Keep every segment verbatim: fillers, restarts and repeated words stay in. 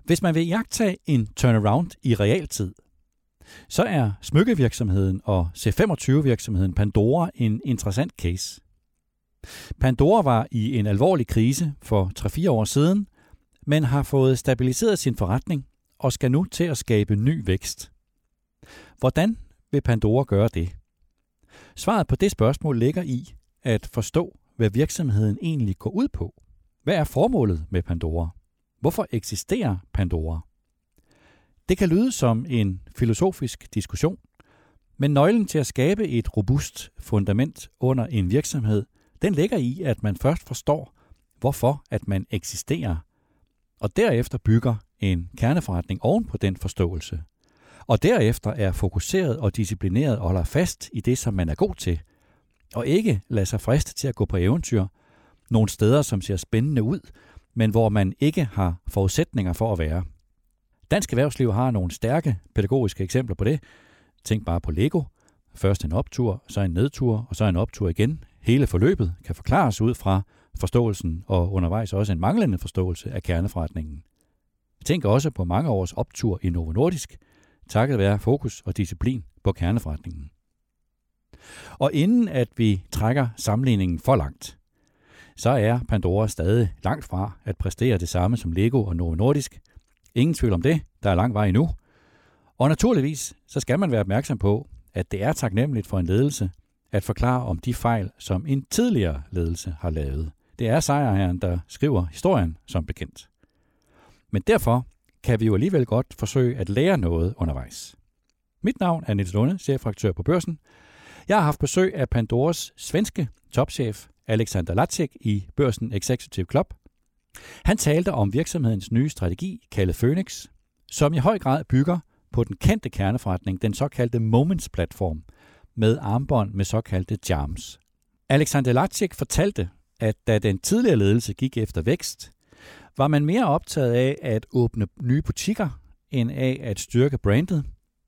Hvis man vil iagttage en turnaround i realtid, så er smykkevirksomheden og C femogtyve-virksomheden Pandora en interessant case. Pandora var i en alvorlig krise for tre fire år siden, men har fået stabiliseret sin forretning og skal nu til at skabe ny vækst. Hvordan vil Pandora gøre det? Svaret på det spørgsmål ligger i at forstå, hvad virksomheden egentlig går ud på. Hvad er formålet med Pandora? Hvorfor eksisterer Pandora? Det kan lyde som en filosofisk diskussion, men nøglen til at skabe et robust fundament under en virksomhed, den ligger i, at man først forstår, hvorfor at man eksisterer, og derefter bygger en kerneforretning oven på den forståelse. Og derefter er fokuseret og disciplineret og holder fast i det, som man er god til, og ikke lader sig friste til at gå på eventyr nogle steder, som ser spændende ud, men hvor man ikke har forudsætninger for at være. Dansk erhvervsliv har nogle stærke pædagogiske eksempler på det. Tænk bare på Lego. Først en optur, så en nedtur, og så en optur igen. Hele forløbet kan forklares ud fra forståelsen og undervejs også en manglende forståelse af kerneforretningen. Tænk også på mange års optur i Novo Nordisk, takket være fokus og disciplin på kerneforretningen. Og inden at vi trækker sammenligningen for langt, så er Pandora stadig langt fra at præstere det samme som Lego og Novo Nordisk. Ingen tvivl om det, der er lang vej endnu. Og naturligvis så skal man være opmærksom på, at det er taknemmeligt for en ledelse at forklare om de fejl, som en tidligere ledelse har lavet. Det er sejrherren, der skriver historien som bekendt. Men derfor kan vi jo alligevel godt forsøge at lære noget undervejs. Mit navn er Niels Lunde, chefredaktør på Børsen. Jeg har haft besøg af Pandoras svenske topchef Alexander Lacik i Børsen Executive Club. Han talte om virksomhedens nye strategi, kaldet Phoenix, som i høj grad bygger på den kendte kerneforretning, den såkaldte Moments-platform, med armbånd med såkaldte charms. Alexander Lacik fortalte, at da den tidligere ledelse gik efter vækst, var man mere optaget af at åbne nye butikker, end af at styrke brandet.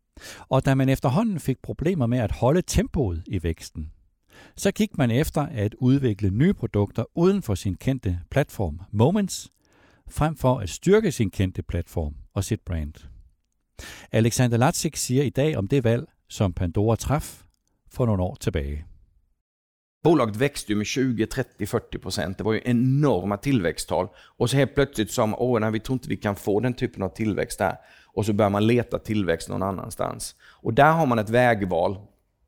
Og da man efterhånden fik problemer med at holde tempoet i væksten, så gik man efter at udvikle nye produkter uden for sin kendte platform Moments, frem for at styrke sin kendte platform og sit brand. Alexander Lacik siger i dag om det valg, som Pandora traf for nogle år tilbage. Bolaget växte ju med tjugo, trettio, fyrtio procent. Det var ju enorma tillväxttal. Och så helt plötsligt sa man, åh, nej, vi tror inte vi kan få den typen av tillväxt där. Och så börjar man leta tillväxt någon annanstans. Och där har man ett vägval.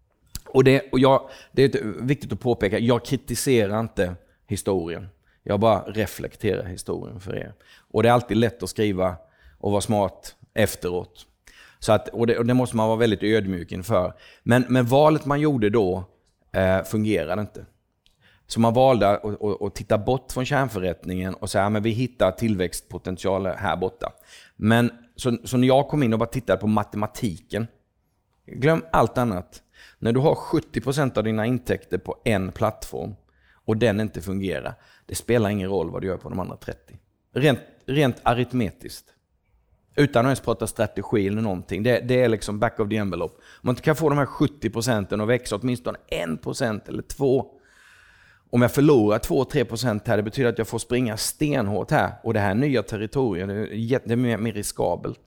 Och det, och jag, det är viktigt att påpeka, jag kritiserar inte historien. Jag bara reflekterar historien för er. Och det är alltid lätt att skriva och vara smart efteråt. Så att, och, det, och det måste man vara väldigt ödmjuk inför. Men, men valet man gjorde då eh, fungerade inte. Så man valde att, att, att titta bort från kärnförrättningen och säga att vi hittar tillväxtpotential här borta. Men så, så när jag kom in och bara tittade på matematiken, glöm allt annat. När du har sjuttio procent av dina intäkter på en plattform och den inte fungerar, det spelar ingen roll vad du gör på de andra trettio. Rent, rent aritmetiskt. Utan att ens prata strategi eller någonting. Det, det är liksom back of the envelope. Om man inte kan få de här sjuttio procenten att växa åtminstone en procent eller två. Om jag förlorar två till tre procent här, det betyder att jag får springa stenhårt här. Och det här nya territoriet, det är mer, mer riskabelt.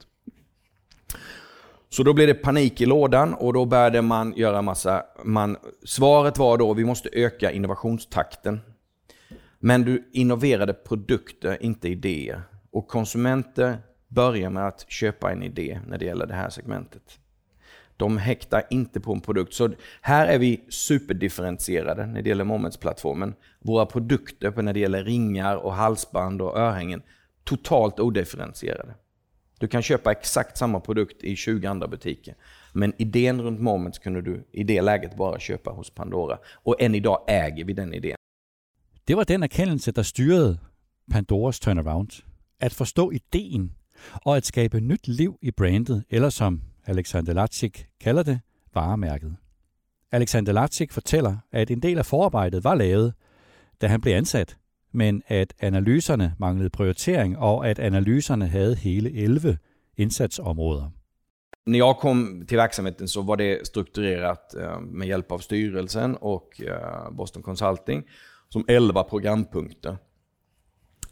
Så då blev det panik i lådan och då började man göra massa... Man, svaret var då, vi måste öka innovationstakten. Men du innoverade produkter, inte idéer. Och konsumenter börjar med att köpa en idé när det gäller det här segmentet. De häktar inte på en produkt. Så här är vi superdifferentierade när det gäller Moments-plattformen. Våra produkter när det gäller ringar och halsband och örhängen, totalt odifferentierade. Du kan köpa exakt samma produkt i tjugo andra butiker. Men idén runt Moments kunde du i det läget bara köpa hos Pandora. Och än idag äger vi den idén. Det var den erkendelse, der styrede Pandoras turnaround. At forstå ideen og at skabe nyt liv i brandet, eller som Alexander Lacik kalder det, varemærket. Alexander Lacik fortæller, at en del af forarbejdet var lavet, da han blev ansat, men at analyserne manglede prioritering, og at analyserne havde hele elleve indsatsområder. När jag kom till verksamheten så var det strukturerat med hjälp av styrelsen och Boston Consulting som elva programpunkter.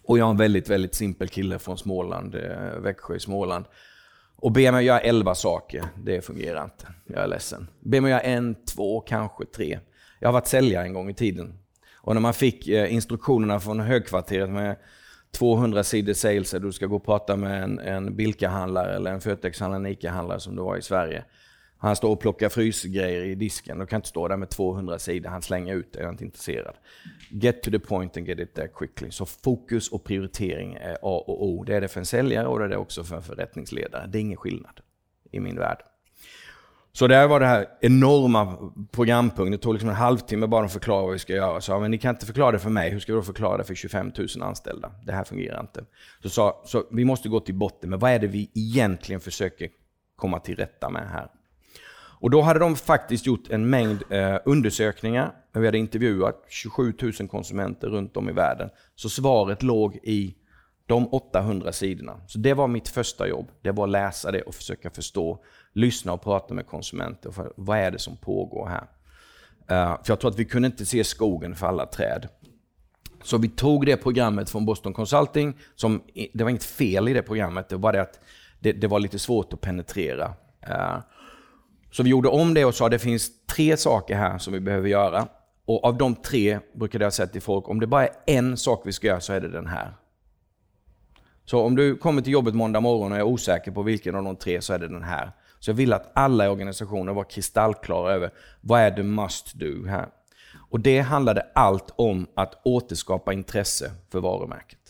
Och jag är en väldigt, väldigt simpel kille från Småland, Växjö i Småland. Och ber mig göra elva saker, det fungerar inte. Jag är ledsen. Ber mig göra en, två, kanske tre. Jag har varit säljare en gång i tiden. Och när man fick instruktionerna från högkvarteret med tvåhundra sidor sales, du ska gå och prata med en, en Bilka-handlare eller en Fötex-handlare, en Ica-handlare som det var i Sverige. Han står och plockar frysgrejer i disken och kan inte stå där med tvåhundra sidor. Han slänger ut det, jag är inte intresserad. Get to the point and get it there quickly. Så fokus och prioritering är A och O. Det är det för en säljare och det är det också för en förrättningsledare. Det är ingen skillnad i min värld. Så där var det här enorma programpunkten. Det tog liksom en halvtimme bara att förklara vad vi ska göra. Så, men ni kan inte förklara det för mig. Hur ska vi då förklara det för tjugofem tusen anställda? Det här fungerar inte. Så, så, så vi måste gå till botten med vad är det vi egentligen försöker komma till rätta med här. Och då hade de faktiskt gjort en mängd eh, undersökningar. Vi hade intervjuat tjugosju tusen konsumenter runt om i världen. Så svaret låg i de åttahundra sidorna. Så det var mitt första jobb. Det var att läsa det och försöka förstå. Lyssna och prata med konsumenter. För vad är det som pågår här? Uh, för jag tror att vi kunde inte se skogen för alla träd. Så vi tog det programmet från Boston Consulting. Som, det var inget fel i det programmet. Det var det att det, det var lite svårt att penetrera. Uh, Så vi gjorde om det och sa att det finns tre saker här som vi behöver göra. Och av de tre brukade jag säga till folk, om det bara är en sak vi ska göra så är det den här. Så om du kommer till jobbet måndag morgon och är osäker på vilken av de tre så är det den här. Så jag vill att alla i organisationen var kristallklara över vad är det must do här. Och det handlade allt om att återskapa intresse för varumärket.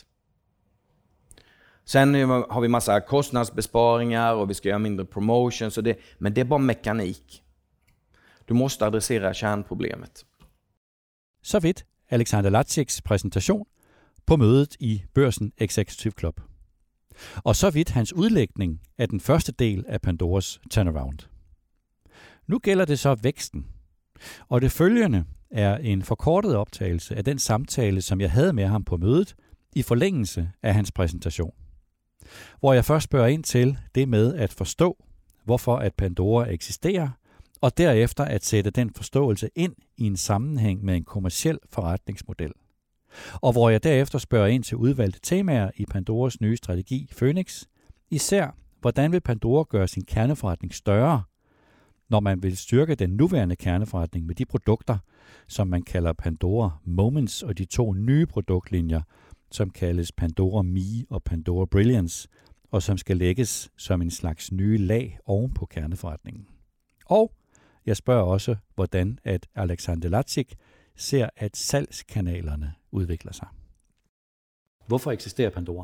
Sen har vi massa kostnadsbesparingar och vi ska göra mindre promotion. Så det, men det är bara mekanik. Du måste adressera kärnproblemet. Så vidt Alexander Lazics præsentation på mødet i Børsen Executive Club. Og så vidt hans udlægning af den første del af Pandoras turnaround. Nu gælder det så væksten. Og det følgende er en forkortet optagelse af den samtale, som jeg havde med ham på mødet i forlængelse af hans præsentation. Hvor jeg først spørger ind til det med at forstå, hvorfor at Pandora eksisterer, og derefter at sætte den forståelse ind i en sammenhæng med en kommerciel forretningsmodel. Og hvor jeg derefter spørger ind til udvalgte temaer i Pandoras nye strategi Phoenix, især hvordan vil Pandora gøre sin kerneforretning større, når man vil styrke den nuværende kerneforretning med de produkter, som man kalder Pandora Moments, og de to nye produktlinjer, som kaldes Pandora Me og Pandora Brilliance, og som skal lægges som en slags nye lag oven på kerneforretningen. Og jeg spørger også, hvordan at Alexander Lazic ser, at salgskanalerne udvikler sig. Hvorfor eksisterer Pandora?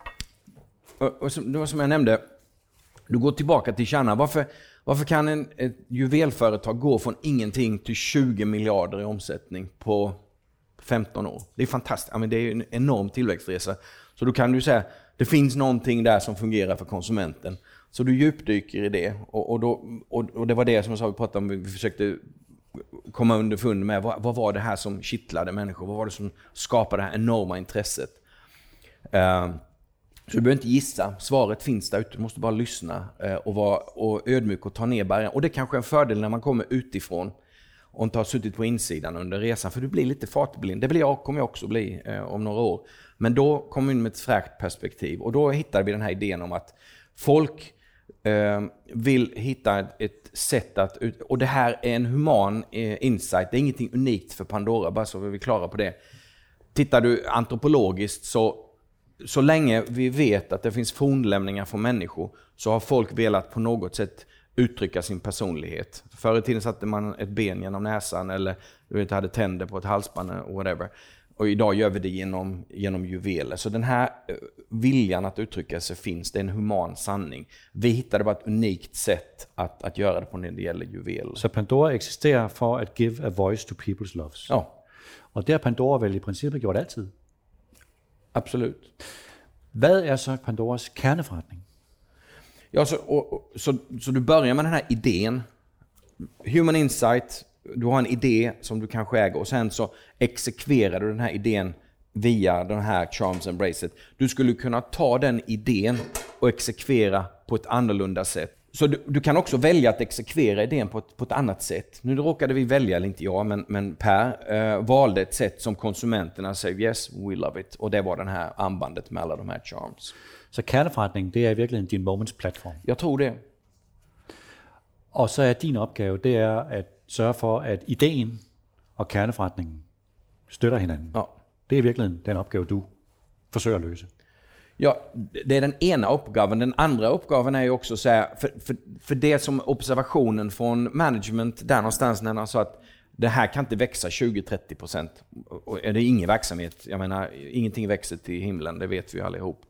Och, och som, det var som jag nämnde, du går tillbaka till kärnan. Varför, varför kan en, ett juvelföretag gå från ingenting till tjugo miljarder i omsättning på femton år? Det är fantastiskt. Ja, men det är en enorm tillväxtresa. Så då kan du säga, det finns någonting där som fungerar för konsumenten. Så du djupdyker i det. Och, och, då, och, och det var det som jag sa, vi pratade om, vi försökte komma underfund med. Vad, vad var det här som kittlade människor? Vad var det som skapade det här enorma intresset? Uh, så du behöver inte gissa. Svaret finns där ute. Du måste bara lyssna uh, och vara och ödmjuk och ta ner barriären. Och det är kanske är en fördel när man kommer utifrån och inte har suttit på insidan under resan. För du blir lite fartblind. Det blir jag, kommer jag också bli uh, om några år. Men då kommer vi in med ett fräckt perspektiv. Och då hittar vi den här idén om att folk uh, vill hitta ett, ett sätt att... Ut- och det här är en human uh, insight. Det är ingenting unikt för Pandora, bara så vi är klara på det. Tittar du antropologiskt så... Så länge vi vet att det finns fornlämningar från människor så har folk velat på något sätt uttrycka sin personlighet. Förr i tiden satte man ett ben genom näsan eller du vet, hade tänder på ett halsband eller whatever. Och idag gör vi det genom, genom juveler. Så den här viljan att uttrycka sig finns, det är en human sanning. Vi hittade bara ett unikt sätt att, att göra det på när det gäller juveler. Så Pandora eksisterer for at give a voice to people's loves. Ja. Og det har Pandora vel i princippet gjort altid. Absolut. Hvad er så Pandoras kerneforretning? Ja, så, och, och, så, så du börjar med den här idén. Human insight, du har en idé som du kanske äger och sen så exekverar du den här idén via den här charms and bracelet. Du skulle kunna ta den idén och exekvera på ett annorlunda sätt. så du, du kan också välja att exekvera idén på ett, på ett annat sätt. Nu råkade vi välja, eller inte jag, men, men Per eh, valde ett sätt som konsumenterna säger yes, we love it. Och det var den här armbandet med alla de här charms. Så kerneforretning, det er virkelig din Moments-platform? Jag tror det. Og så er din opgave, det er at sørge for, at ideen og kerneforretningen støtter hinanden. Ja. Det er virkelig den opgave, du forsøger at løse. Ja, det är den ena uppgaven. Den andra uppgaven är ju också så här, för, för, för det som observationen från management där någonstans när han sa att det här kan inte växa tjugo till trettio procent. Och är det ingen verksamhet, jag menar, ingenting växer till himlen, det vet vi allihop.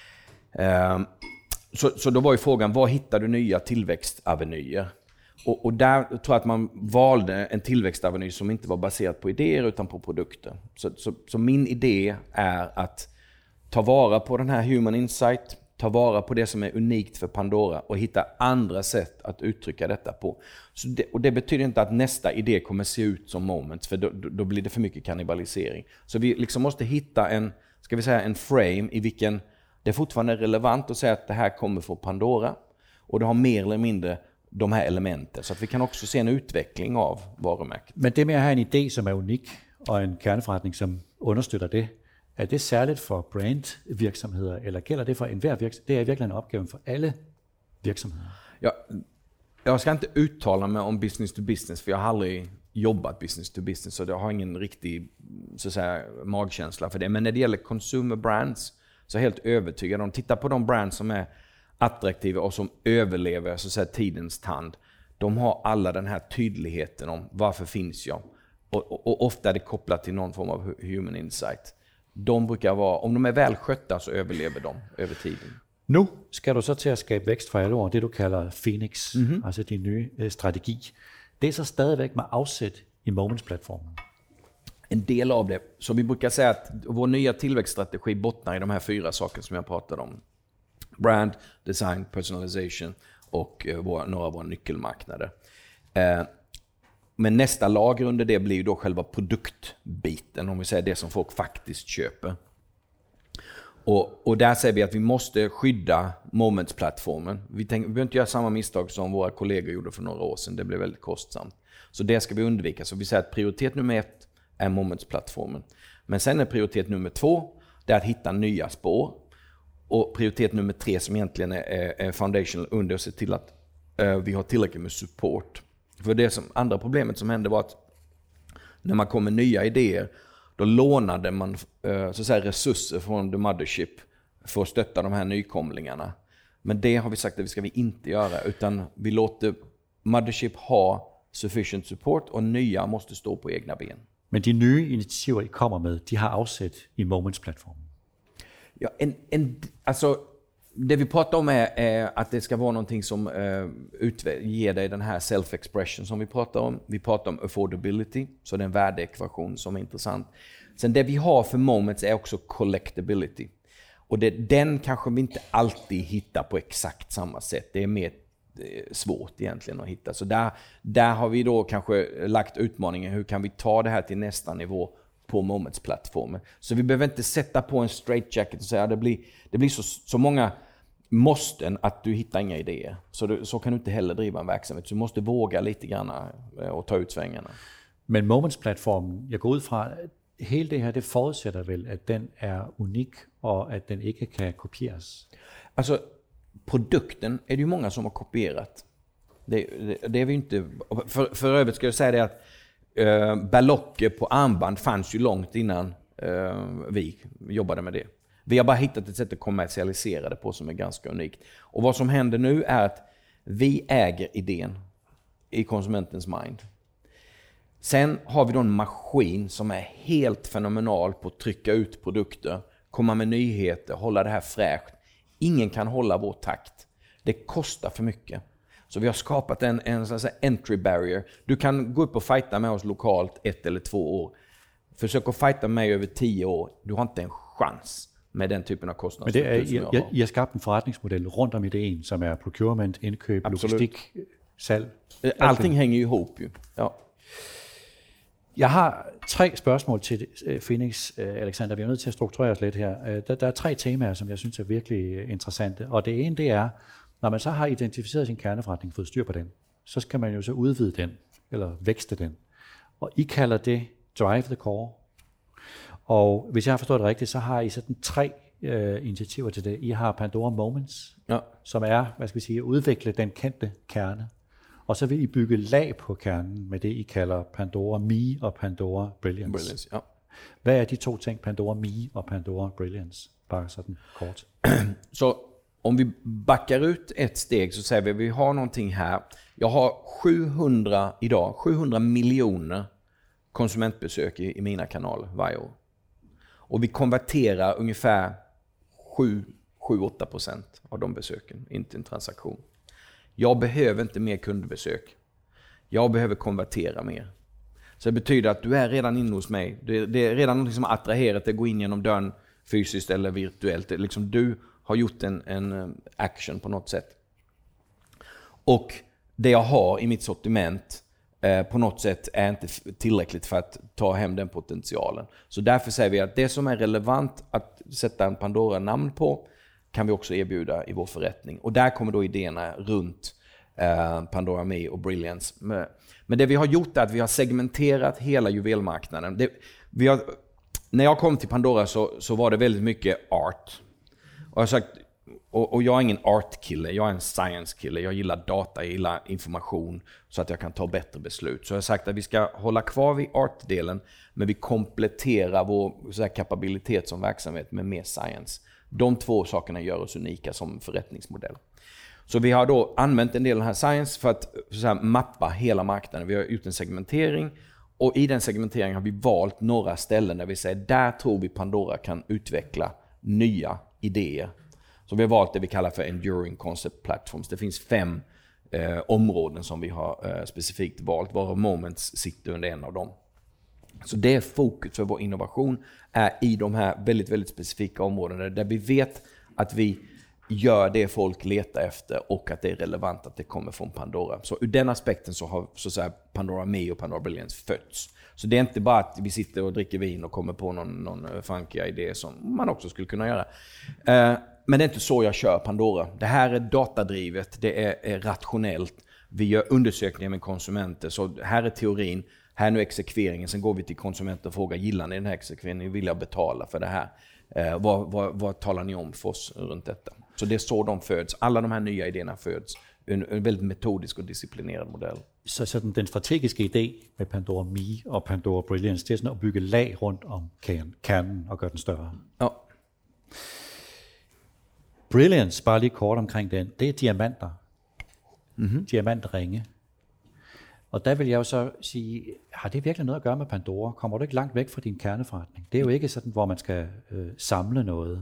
Um, så, så då var ju frågan, var hittar du nya tillväxtavenyer? Och, och där tror jag att man valde en tillväxtaveny som inte var baserad på idéer utan på produkter. Så, så, så min idé är att ta vara på den här human insight, ta vara på det som är unikt för Pandora och hitta andra sätt att uttrycka detta på. Så det, och det betyder inte att nästa idé kommer se ut som Moments, för då, då blir det för mycket kannibalisering. Så vi liksom måste hitta en, ska vi säga, en frame i vilken det är fortfarande relevant att säga att det här kommer från Pandora och det har mer eller mindre de här elementen, så att vi kan också se en utveckling av varumärket. Men det med at have en idé, som er unik, og en kerneforretning, som understøtter det, er det særligt for brandvirksomheder, eller gælder det for enhver virksomhed? Det er virkelig en opgave for alle virksomheder. Ja, jag ska inte uttala mig om business to business, för jag har aldrig jobbat business to business, så jag har ingen riktig, så att säga, magkänsla för det. Men när det gäller consumer brands så är jag helt övertygad om, titta på de brands som är attraktiva och som överlever, så att säga, tidens tand. De har alla den här tydligheten om varför finns jag. Och, och, och ofta är det kopplat till någon form av human insight. De brukar vara, om de är välskötta så överlever de över tiden. Nu skal du så til at skabe vækst for alle år, det du kalder Phoenix, mm-hmm. altså din nye øh, strategi. Det er så stadigvæk med afsæt i Moments-platformen. En del av det. Så vi brukar säga att vår nya tillväxtstrategi bottnar i de här fyra sakerna som jag pratade om. Brand, design, personalization och eh, våra, några av våra nyckelmarknader. Eh, men nästa lager under det blir då själva produktbiten, om vi säger det som folk faktiskt köper. Och, och där säger vi att vi måste skydda Moments-plattformen. Vi, tänk, vi behöver inte göra samma misstag som våra kollegor gjorde för några år sedan. Det blev väldigt kostsamt. Så det ska vi undvika. Så vi säger att prioritet nummer ett är Moments-plattformen. Men sen är prioritet nummer två, det är att hitta nya spår. Och prioritet nummer tre, som egentligen är, är foundational under, att se till att uh, vi har tillräckligt med support. För det som, andra problemet som hände var att när man kom med nya idéer, då lånade man uh, så att säga, resurser från the mothership för att stötta de här nykomlingarna. Men det har vi sagt att vi ska vi inte göra, utan vi låter mothership ha sufficient support och nya måste stå på egna ben. Men de nye initiativer, I kommer med, de har afsæt i Moments-platformen. Ja, en, en, alltså, det vi pratar om är, är att det ska vara någonting som eh, utve- ger dig den här self-expression som vi pratar om. Vi pratar om affordability, så det är en värdeekvation som är intressant. Sen det vi har för Moments är också collectability. Och det, den kanske vi inte alltid hittar på exakt samma sätt. Det är mer eh, svårt egentligen att hitta. Så där, där har vi då kanske lagt utmaningen, hur kan vi ta det här till nästa nivå på Moments-plattformen. Så vi behöver inte sätta på en straight jacket och säga att det blir, det blir så, så många måsten att du hittar inga idéer. Så, du, så kan du inte heller driva en verksamhet. Så du måste våga lite grann och ta ut svängarna. Men Moments-platformen, jeg går ud fra, hele det her, det forudsætter vel, at den er unik, og at den ikke kan kopieres? Alltså, produkten är det ju många som har kopierat. Det, det, det är vi inte... För, för övrigt ska jag säga det att Uh, berlocker på armband fanns ju långt innan uh, vi jobbade med det. Vi har bara hittat ett sätt att kommersialisera det på som är ganska unikt. Och vad som händer nu är att vi äger idén i konsumentens mind. Sen har vi då en maskin som är helt fenomenal på att trycka ut produkter, komma med nyheter, hålla det här fräscht. Ingen kan hålla vår takt. Det kostar för mycket. Så vi har skapat en, en sån här entry barrier. Du kan gå upp och fighta med oss lokalt ett eller två år. Försök att fighta med mig över tio år. Du har inte en chans med den typen av kostnader. Men det er, I, I har skabt en forretningsmodel rundt om ideen, som er procurement, indkøb, Absolut. logistik, salg. Allting hænger ju ihop ju. Ja. Jeg har tre spørgsmål til Phoenix, Alexander. Vi er nødt til at strukturere os lidt her. Der, der er tre temaer, som jeg synes er virkelig interessante. Og det ene, det er, Når man så har identificeret sin kerneforretning, fået styr på den, så skal man jo så udvide den, eller vækste den. Og I kalder det Drive the Core. Og hvis jeg har forstået det rigtigt, så har I sådan tre øh, initiativer til det. I har Pandora Moments, ja. Som er, hvad skal vi sige, at udvikle den kendte kerne. Og så vil I bygge lag på kernen med det, I kalder Pandora Me og Pandora Brilliance. Brilliance, ja. Hvad er de to ting, Pandora Me og Pandora Brilliance? Bare sådan kort. Så om vi backar ut ett steg så säger vi att vi har någonting här. Jag har sjuhundra idag, sjuhundra miljoner konsumentbesök i, i mina kanaler varje år. Och vi konverterar ungefär sju till åtta procent av de besöken in till en transaktion. Jag behöver inte mer kundbesök. Jag behöver konvertera mer. Så det betyder att du är redan inne hos mig. Det är, det är redan något som attraherat dig att gå in genom dörren fysiskt eller virtuellt. Det är liksom du har gjort en, en action på något sätt. Och det jag har i mitt sortiment eh, på något sätt är inte tillräckligt för att ta hem den potentialen. Så därför säger vi att det som är relevant att sätta en Pandora-namn på kan vi också erbjuda i vår förrättning. Och där kommer då idéerna runt eh, Pandora Me och Brilliance. Men det vi har gjort är att vi har segmenterat hela juvelmarknaden. Det, vi har, när jag kom till Pandora så, så var det väldigt mycket art. Och jag har sagt, och, och jag är ingen art-kille, jag är en science-kille. Jag gillar data, jag gillar information så att jag kan ta bättre beslut. Så jag har sagt att vi ska hålla kvar vid art-delen, men vi kompletterar vår så här, kapabilitet som verksamhet med mer science. De två sakerna gör oss unika som förrättningsmodell. Så vi har då använt en del av den här science för att så här, mappa hela marknaden. Vi har gjort en segmentering och i den segmenteringen har vi valt några ställen där vi säger där tror vi Pandora kan utveckla nya idéer. Så vi har valt det vi kallar för Enduring Concept Platforms. Det finns fem eh, områden som vi har eh, specifikt valt, varav Moments sitter under en av dem. Så det är fokus för vår innovation är i de här väldigt, väldigt specifika områdena där vi vet att vi gör det folk letar efter och att det är relevant att det kommer från Pandora. Så ur den aspekten så har så att säga, Pandora Me och Pandora Brilliance fötts. Så det är inte bara att vi sitter och dricker vin och kommer på någon, någon funky idé som man också skulle kunna göra. Eh, men det är inte så jag kör Pandora. Det här är datadrivet, det är, är rationellt. Vi gör undersökningar med konsumenter, så här är teorin. Här nu exekveringen, sen går vi till konsumenter och frågar, gillar ni den här exekveringen? Vill jag betala för det här? Eh, vad, vad, vad talar ni om för oss runt detta? Så det är så de föds. Alla de här nya idéerna föds. En, en väldigt metodisk och disciplinerad modell. Så sådan, den strategiske idé med Pandora Me og Pandora Brilliance, det er sådan at bygge lag rundt om kernen og gøre den større. Ja. Brilliance, bare lige kort omkring den, det er diamanter. Mm-hmm. Diamantringe. Og der vil jeg jo så sige, har det virkelig noget at gøre med Pandora? Kommer du ikke langt væk fra din kerneforretning? Det er jo ikke sådan, hvor man skal øh, samle noget.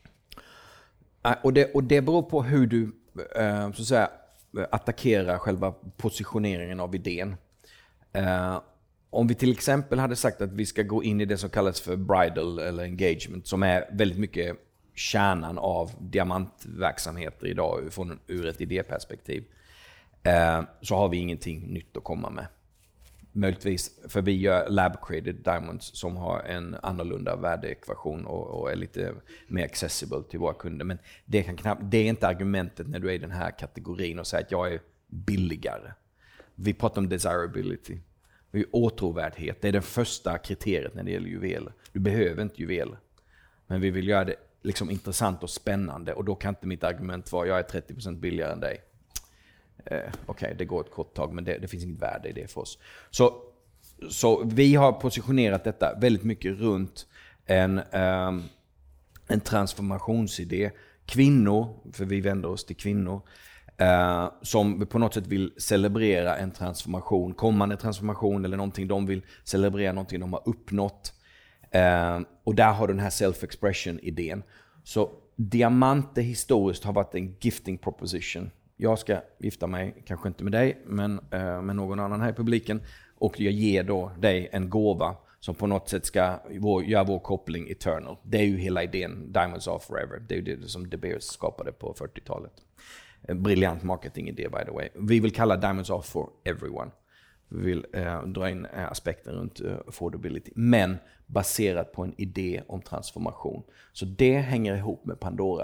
Och det, och det beror på hur du eh, så att säga, attackerar själva positioneringen av idén. Eh, om vi till exempel hade sagt att vi ska gå in i det som kallas för bridal eller engagement, som är väldigt mycket kärnan av diamantverksamheter idag från ur ett idéperspektiv, eh, så har vi ingenting nytt att komma med. Möjligtvis, för vi gör lab-created diamonds som har en annorlunda värdeekvation och, och är lite mer accessible till våra kunder. Men det, kan knappt, det är inte argumentet när du är i den här kategorin och säger att jag är billigare. Vi pratar om desirability. Vi är åtråvärdhet. Det är det första kriteriet när det gäller juveler. Du behöver inte juveler. Men vi vill göra det liksom intressant och spännande, och då kan inte mitt argument vara jag är trettio procent billigare än dig. Eh, Okej, okay, det går ett kort tag, men det, det finns inget värde i det för oss. Så, så vi har positionerat detta väldigt mycket runt en, um, en transformationsidé. Kvinnor, för vi vänder oss till kvinnor, uh, som på något sätt vill celebrera en transformation, kommande transformation eller någonting de vill celebrera, någonting de har uppnått. Uh, och där har den här self-expression-idén. Så diamanter historiskt har varit en gifting proposition. Jag ska gifta mig, kanske inte med dig, men eh, med någon annan här i publiken. Och jag ger då dig en gåva som på något sätt ska vår, göra vår koppling eternal. Det är ju hela idén, Diamonds Are Forever. Det är ju det som De Beers skapade på fyrtiotalet. En briljant marketingidé, by the way. Vi vill kalla Diamonds Are For Everyone. Vi vill eh, dra in eh, aspekter runt eh, affordability. Men baserat på en idé om transformation. Så det hänger ihop med Pandora.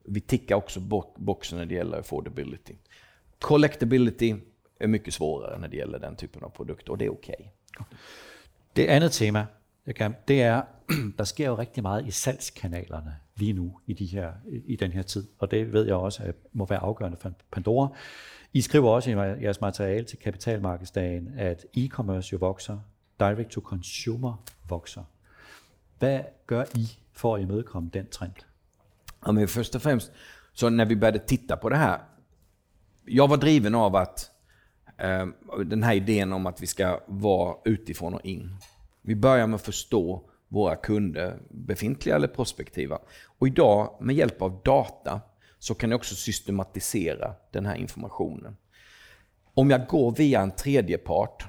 vi tickar också bo- boxen när det gäller affordability. Collectability är mycket svårare när det gäller den typen av produkter, och det är okej. Okay. Det andet tema, jeg kan, det er, der sker jo rigtig meget i salgskanalerne lige nu i, de her, i den her tid, og det ved jeg også at må være afgørende for Pandora. I skriver også i jeres materiale til Kapitalmarkedsdagen, at e-commerce jo vokser, direct to consumer vokser. Hvad gør I for at imødekomme den trend? Ja, men först och främst, så när vi började titta på det här, jag var driven av att eh, den här idén om att vi ska vara utifrån och in. Vi börjar med att förstå våra kunder, befintliga eller prospektiva. Och idag med hjälp av data så kan jag också systematisera den här informationen. Om jag går via en tredje part,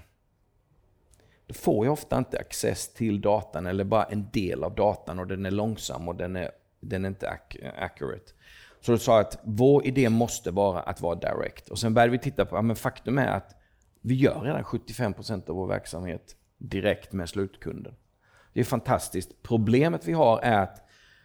då får jag ofta inte access till datan eller bara en del av datan, och den är långsam och den är, den är inte ac- accurate. Så då sa jag att vår idé måste vara att vara direct. Och sen började vi titta på, ja, men faktum är att vi gör redan sjuttiofem procent av vår verksamhet direkt med slutkunden. Det är fantastiskt. Problemet vi har är att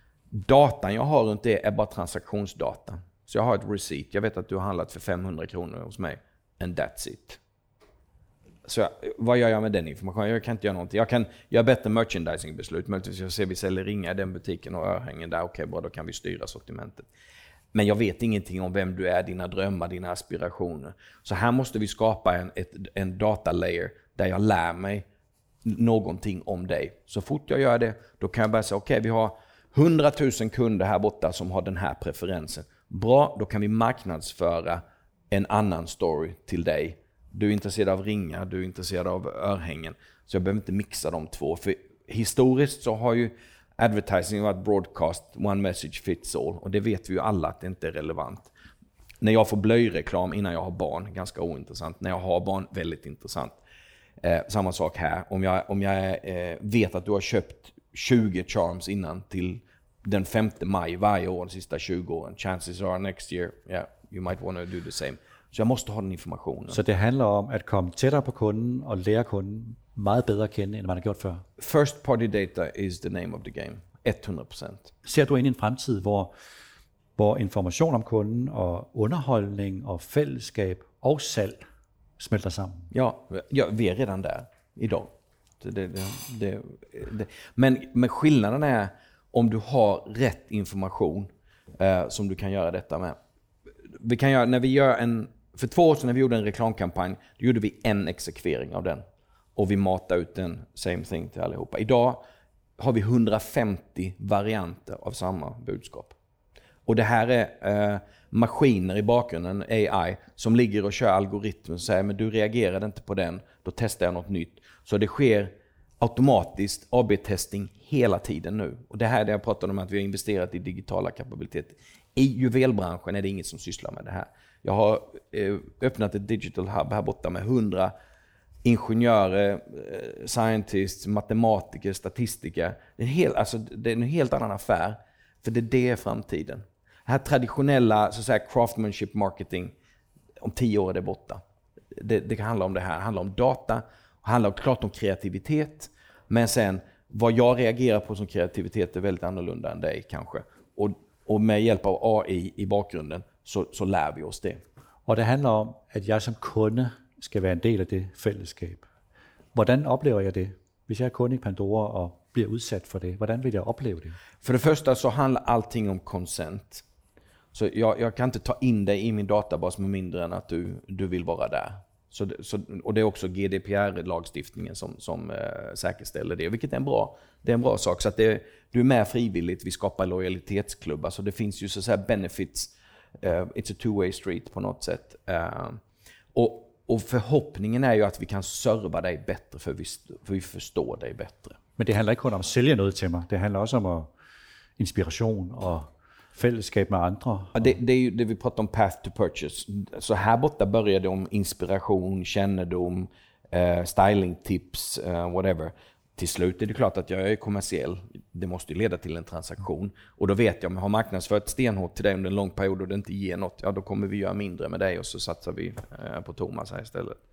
datan jag har runt det är bara transaktionsdata. Så jag har ett receipt. Jag vet att du har handlat för femhundra kronor hos mig. And that's it. Så jag, vad gör jag med den informationen? Jag kan inte göra någonting. Jag kan göra bättre merchandisingbeslut. Möjligtvis jag ser vi säljer ringar i den butiken och örhängen där. Okej, okay, bra, då kan vi styra sortimentet. Men jag vet ingenting om vem du är, dina drömmar, dina aspirationer. Så här måste vi skapa en, ett, en data layer där jag lär mig någonting om dig. Så fort jag gör det, då kan jag börja säga, okej, okay, vi har hundratusen kunder här borta som har den här preferensen. Bra, då kan vi marknadsföra en annan story till dig. Du är intresserad av ringar, du är intresserad av örhängen. Så jag behöver inte mixa de två. För historiskt så har ju advertising varit broadcast, one message fits all. Och det vet vi ju alla att det inte är relevant. När jag får blöjreklam innan jag har barn, ganska ointressant. När jag har barn, väldigt intressant. Eh, samma sak här. Om jag, om jag eh, vet att du har köpt tjugo charms innan till den femte maj varje år de sista tjugo åren. Chances are next year, yeah, you might want to do the same. Så jag måste ha den informationen. Så det handler om at komme tættere på kunden og lære kunden meget bedre at kende, end man har gjort før? First party data is the name of the game. hundrede procent. Ser du ind i en fremtid, hvor, hvor information om kunden og underholdning og fællesskab og salg smelter sammen? Ja, ja, vi är redan där idag. Det, det, det, det. Men, men skillnaden är om du har rätt information eh, som du kan göra detta med. Vi kan göra, när vi gör en, för två år sedan när vi gjorde en reklamkampanj, då gjorde vi en exekvering av den. Och vi matade ut den same thing till allihopa. Idag har vi hundrafemtio varianter av samma budskap. Och det här är eh, maskiner i bakgrunden, A I, som ligger och kör algoritmer och säger, men du reagerade inte på den, då testar jag något nytt. Så det sker automatiskt A B-testing hela tiden nu. Och det här är det jag pratade om, att vi har investerat i digitala kapabiliteter. I juvelbranschen är det ingen som sysslar med det här. Jag har eh, öppnat ett digital hub här borta med hundra ingenjörer, eh, scientists, matematiker, statistiker. Det är, helt, alltså, det är en helt annan affär, för det, det är framtiden. Det här traditionella så att säga, craftsmanship marketing, om tio år är det borta. Det, det kan handla om det här. Det handlar om data, det handlar klart om kreativitet, men sen vad jag reagerar på som kreativitet är väldigt annorlunda än dig kanske. Och, och med hjälp av A I i bakgrunden så, så lär vi oss det. Og det handler om, at jeg som kunde skal være en del af det fællesskab. Hvordan oplever jeg det, hvis jeg er kunde i Pandora og bliver udsat for det? Hvordan vil jeg opleve det? För det första så handlar allting om consent. Så jag, jag kan inte ta in dig i min databas med mindre än att du, du vill vara där. Så, så, och det är också G D P R-lagstiftningen som, som äh, säkerställer det, vilket är en bra, det är en bra sak. Så att det, du är med frivilligt, vi skapar lojalitetsklubbar. Så det finns ju så att säga benefits, uh, it's a two-way street på något sätt. Uh, och, och förhoppningen är ju att vi kan serva dig bättre, för vi, för vi förstår dig bättre. Men det handler ikke kun om at sælge noget til mig, det handler også om at inspiration og fællesskab med andre. Ja, det, det är ju det vi pratar om, path to purchase. Så här borta börjar det om inspiration, kännedom, eh, stylingtips, eh, whatever. Till slut är det klart att jag är kommersiell. Det måste ju leda till en transaktion. Och då vet jag, om jag har marknadsfört stenhårt till dig under en lång period och det inte ger något, ja då kommer vi göra mindre med dig och så satsar vi eh, på Thomas här istället.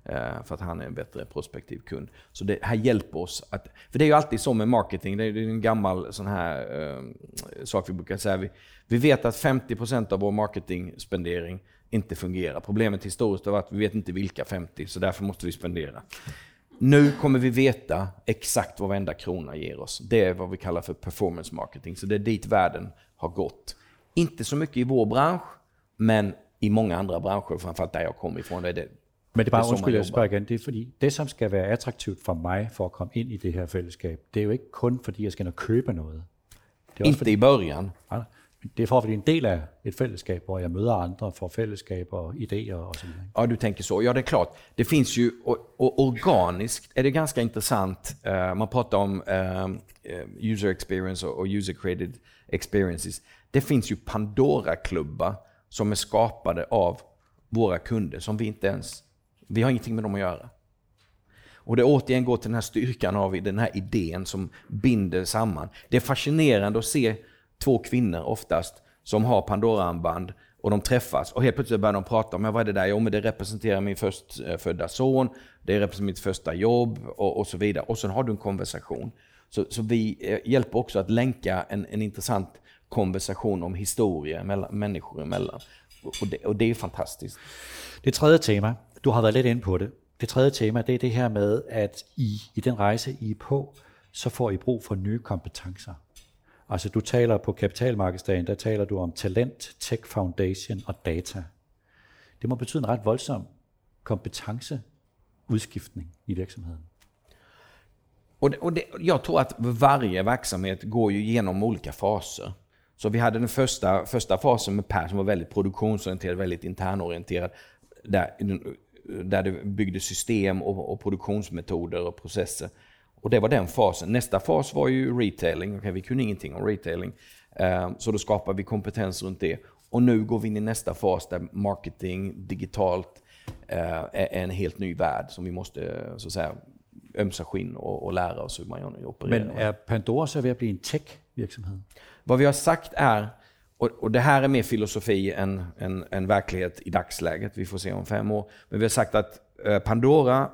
för att han är en bättre prospektiv kund. Så det här hjälper oss att, för det är ju alltid så med marketing, det är en gammal sån här uh, sak vi brukar säga. Vi, vi vet att femtio procent av vår marketingspendering inte fungerar. Problemet historiskt är att vi vet inte vilka femtio, så därför måste vi spendera. Nu kommer vi veta exakt vad varenda krona ger oss. Det är vad vi kallar för performance marketing. Så det är dit världen har gått. Inte så mycket i vår bransch, men i många andra branscher, framförallt där jag kommer ifrån. Det är det, men det er bare, undskyld, jeg spørger igen, det er fordi, det som skal være attraktivt for mig, for at komme ind i det her fællesskab, det er jo ikke kun fordi, jeg skal ind og købe noget. Det er inte fordi, i början. Nej, det er for, fordi en del af et fællesskab, hvor jeg møder andre, får fællesskab og idéer och så vidare. Ja, du tänker så. Ja, det är klart. Det finns ju, och, och organiskt är det ganska intressant. Uh, man pratar om uh, user experience och user created experiences. Det finns ju Pandora-klubbar som är skapade av våra kunder som vi inte ens, vi har ingenting med dem att göra. Och det återigen går till den här styrkan av den här idén som binder samman. Det är fascinerande att se två kvinnor oftast som har Pandora-armband och de träffas och helt plötsligt börjar de prata om vad är det där? Jo, men det representerar min förstfödda son, det representerar mitt första jobb och, och så vidare. Och sen har du en konversation. Så, så vi hjälper också att länka en, en intressant konversation om historia mellan människor emellan. Och det, och det är fantastiskt. Det tredje tema, du har været lidt inde på det. Det tredje tema, det er det her med, at I, i den rejse, I er på, så får I brug for nye kompetencer. Altså du taler på kapitalmarkedsdagen, der taler du om talent, tech foundation og data. Det må betyde en ret voldsom kompetenceudskiftning i virksomheden. Och, det, och det, jag tror att varje verksamhet går ju igenom olika faser. Så vi hade den första, första fasen med Per som var väldigt produktionsorienterad, väldigt internorienterad. Där, där det byggde system och, och produktionsmetoder och processer. Och det var den fasen. Nästa fas var ju retailing. Okay, vi kunde ingenting om retailing. Uh, så då skapade vi kompetens runt det. Och nu går vi in i nästa fas där marketing, digitalt uh, är en helt ny värld som vi måste så att säga ömsa skinn och, och lära oss hur man opererar. Men är Pandora så ved at blive en tech-virksomhed? Vad vi har sagt är, och, och det här är mer filosofi än, än, än verklighet i dagsläget, vi får se om fem år, men vi har sagt att uh, Pandora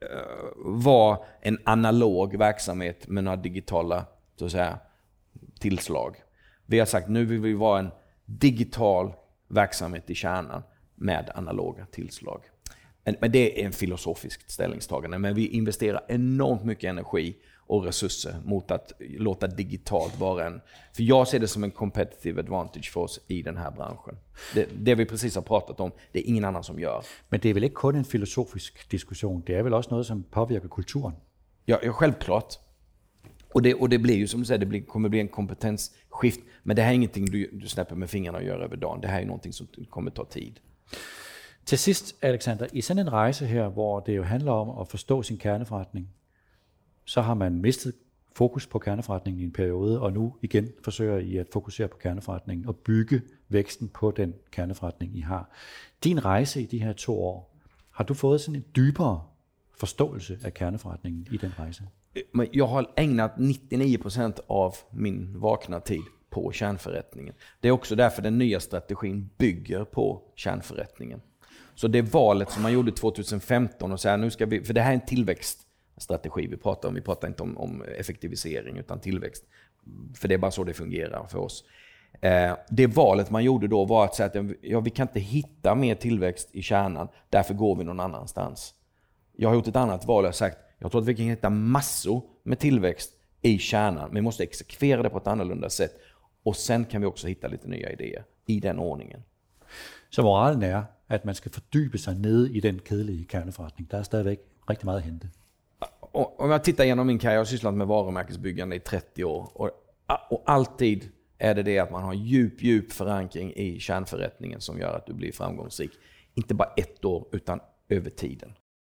var en analog verksamhet med några digitala så att säga, tillslag. Vi har sagt nu vill vi vara en digital verksamhet i kärnan med analoga tillslag. Men det är en filosofisk ställningstagande, men vi investerar enormt mycket energi och resurser mot att låta digitalt vara en, för jag ser det som en competitive advantage för oss i den här branschen. Det, det vi precis har pratat om, det är ingen annan som gör. Men det är väl inte kun en filosofisk diskussion, det är väl också något som påverkar kulturen? Ja, ja självklart. Och det, och det blir ju som du säger, det blir, kommer bli en kompetensskift, men det här är ingenting du, du snäpper med fingrarna och gör över dagen. Det här är någonting som kommer ta tid. Til sidst, Alexander, i sådan en rejse her, hvor det jo handler om at forstå sin kerneforretning, så har man mistet fokus på kerneforretningen i en periode, og nu igen forsøger I at fokusere på kerneforretningen og bygge væksten på den kerneforretning, I har. Din rejse i de her to år, har du fået sådan en dybere forståelse af kerneforretningen i den rejse? Men jag har ägnat nittionio procent av min vakna tid på kärnförrättningen. Det är också därför den nya strategin bygger på kärnförrättningen. Så det valet som man gjorde tjugohundrafemton och så här, nu ska vi, för det här är en tillväxtstrategi vi pratar om, vi pratar inte om, om effektivisering utan tillväxt. För det är bara så det fungerar för oss. Eh, det valet man gjorde då var att säga att ja, vi kan inte hitta mer tillväxt i kärnan, därför går vi någon annanstans. Jag har gjort ett annat val och sagt, jag tror att vi kan hitta massor med tillväxt i kärnan, men vi måste exekvera det på ett annorlunda sätt. Och sen kan vi också hitta lite nya idéer i den ordningen. Så moralen er, at man skal fordybe sig nede i den kedelige kerneforretning. Der er stadigvæk rigtig meget at hente. Och om jag tittar igenom min karriär, jag har sysslat med varumärkesbyggande i trettio år. Och, och alltid är det det att man har djup, djup förankring i kärnförrättningen som gör att du blir framgångsrik. Inte bara ett år, utan över tiden.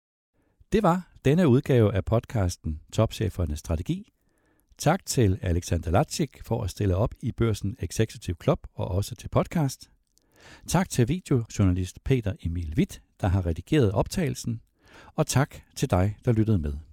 Det var denne udgave af podcasten Topchefernes Strategi. Tak til Alexander Latsik for at stille op i Børsen Executive Club og også til podcast. Tak til videojournalist Peter Emil Witt, der har redigeret optagelsen. Og tak til dig, der lyttede med.